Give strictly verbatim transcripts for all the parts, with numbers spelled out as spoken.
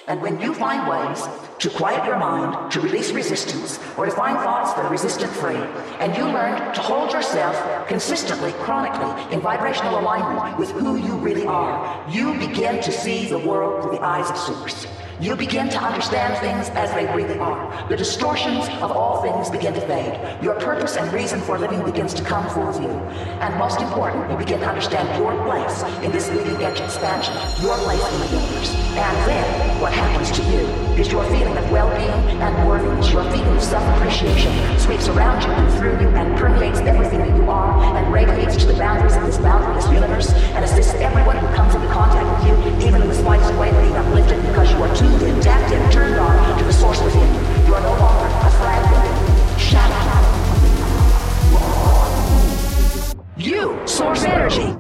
And when you find ways to quiet your mind, to release resistance, or to find thoughts that are resistant-free, and you learn to hold yourself consistently, chronically, in vibrational alignment with who you really are, you begin to see the world through the eyes of Source. You begin to understand things as they really are. The distortions of all things begin to fade. Your purpose and reason for living begins to come full view. And most important, you begin to understand your place in this leading edge expansion, your place in the universe. And then, what happens to you is your feeling of well-being and worthiness, your feeling of self-appreciation sweeps around you and through you and permeates everything that you are and radiates to the boundaries of this boundaryless universe and assists everyone who comes into contact with you, even in the slightest way, being uplifted because you are too in, tapped in, turned on to the source within you. You are no longer a fragmented shadow. You, source energy.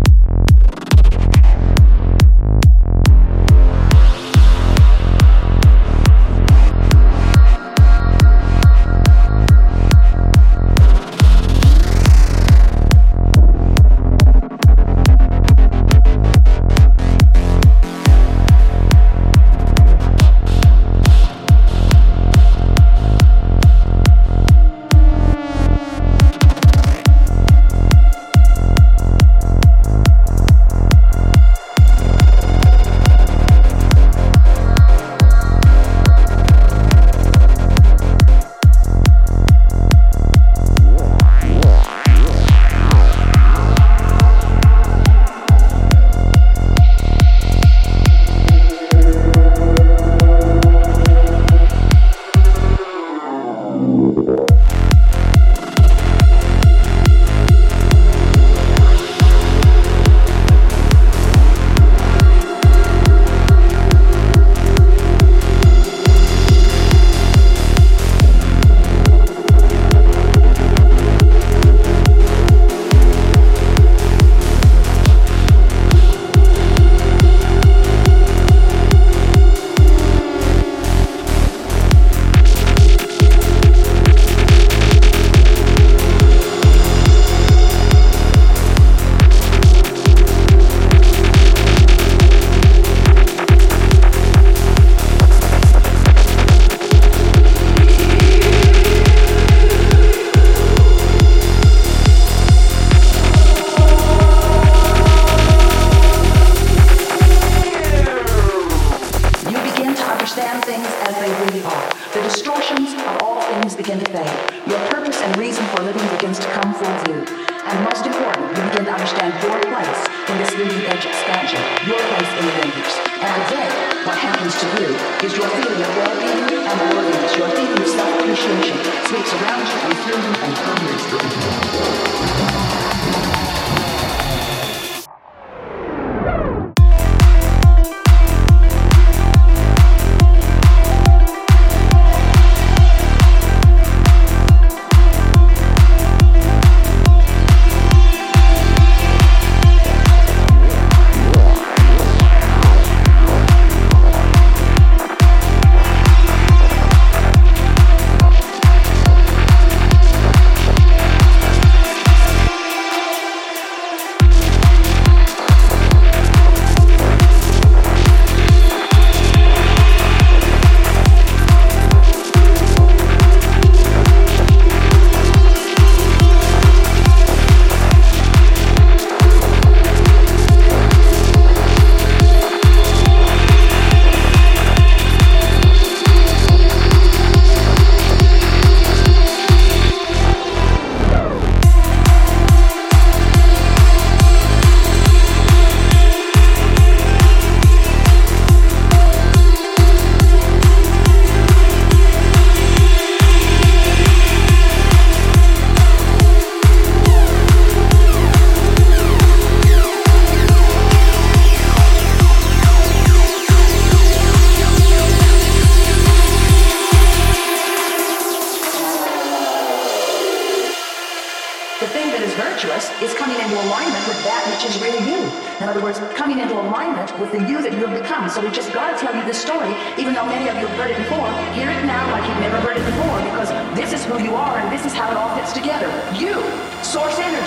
Is coming into alignment with that which is really you. In other words, coming into alignment with the you that you have become. So we just got to tell you this story, even though many of you have heard it before. Hear it now like you've never heard it before, because this is who you are and this is how it all fits together. You, source energy.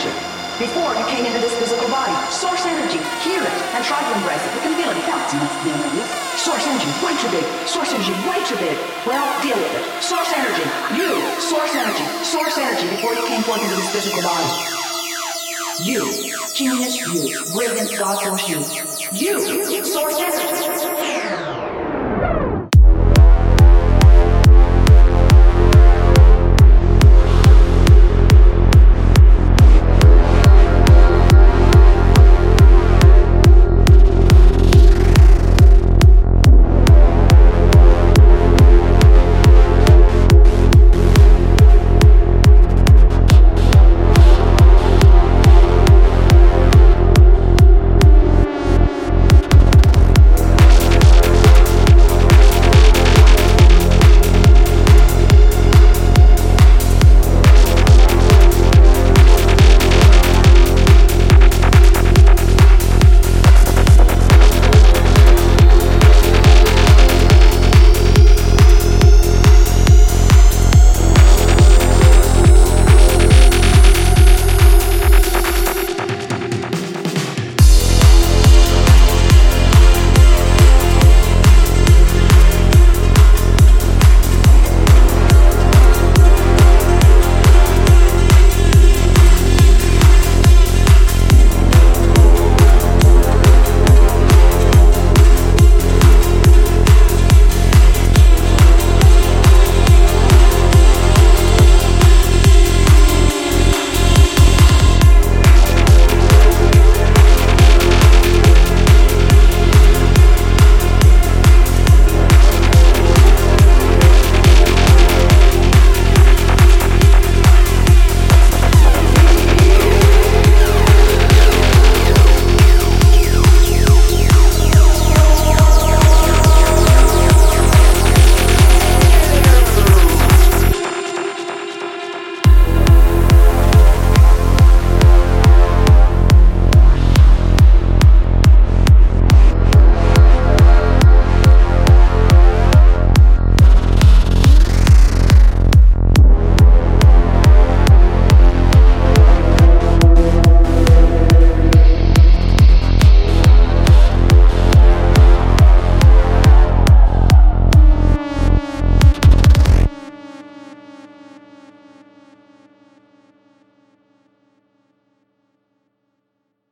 Before you came into this physical body. Source energy. Hear it and try to embrace it. You can feel it. It counts. Source energy. Way too big. Source energy. Way too big. Well, deal with it. Source energy. You. Source energy. Source energy before you came forth into this physical body. You. Genius. You. Brilliant God force you. You. Source energy.